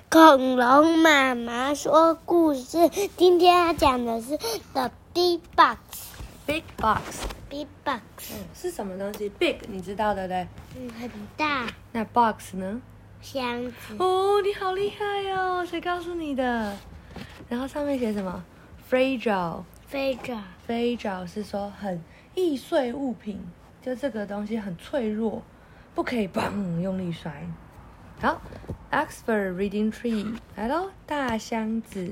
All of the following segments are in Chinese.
恐龙妈妈说故事。今天要讲的是 The Big Box。Big Box。 是什么东西 ？Big 你知道的嘞？ 很大。 那 box 呢？ 箱子。 哦，你好厉害哦！谁告诉你的？然后上面写什么 ？fragile。fragile 是说很易碎物品，就这个东西很脆弱，不可以砰用力摔。好 ，Oxford Reading Tree 来咯，大箱子。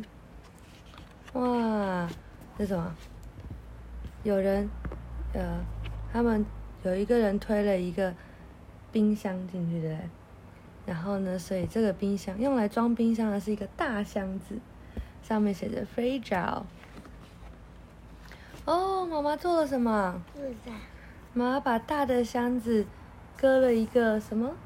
哇，这是什么？有人，他们有一个人推了一个冰箱进去，对不对？然后呢，所以这个冰箱用来装冰箱的是一个大箱子，上面写着 fragile。哦，妈妈做了什么？妈妈把大的箱子割了一个什么？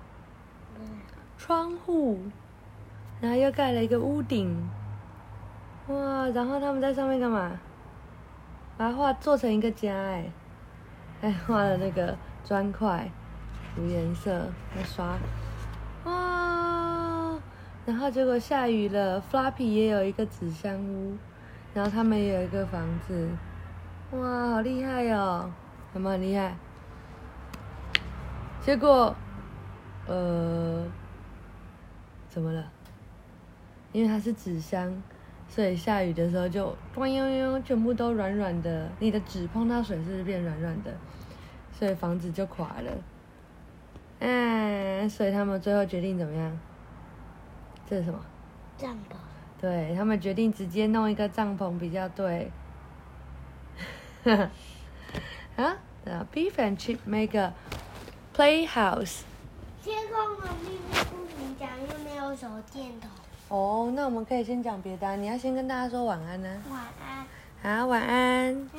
窗户，然后又盖了一个屋顶。哇，然后他们在上面干嘛？把它做成一个家，还画了那个砖块，涂颜色，还刷。哇！然后结果下雨了 ，Floppy 也有一个纸箱屋，然后他们也有一个房子。哇，好厉害哦！有没有很厉害？结果，怎么了？因为它是纸箱，所以下雨的时候就咚悠悠，全部都软软的。你的纸碰到水是不是变软软的？所以房子就垮了。所以他们最后决定怎么样？这是什么？ 帐篷。 对，他们决定直接弄一个帐篷比较对。啊 ，The Beef and Chip make a playhouse。 天空的秘密不能讲，又没有手电筒。 哦，那我们可以先讲别的。你要先跟大家说晚安呢。 晚安。 好，晚安。